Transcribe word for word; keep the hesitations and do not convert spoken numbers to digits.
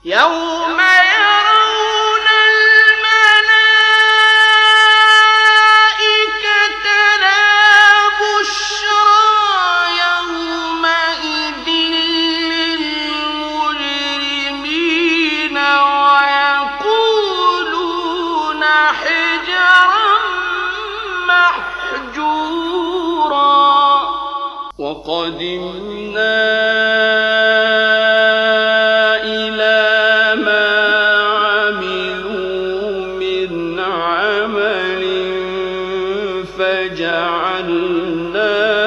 يوم يرون الملائكة لا بشرى يومئذ للمجرمين ويقولون حجرا محجورا وقدمنا فجعلناه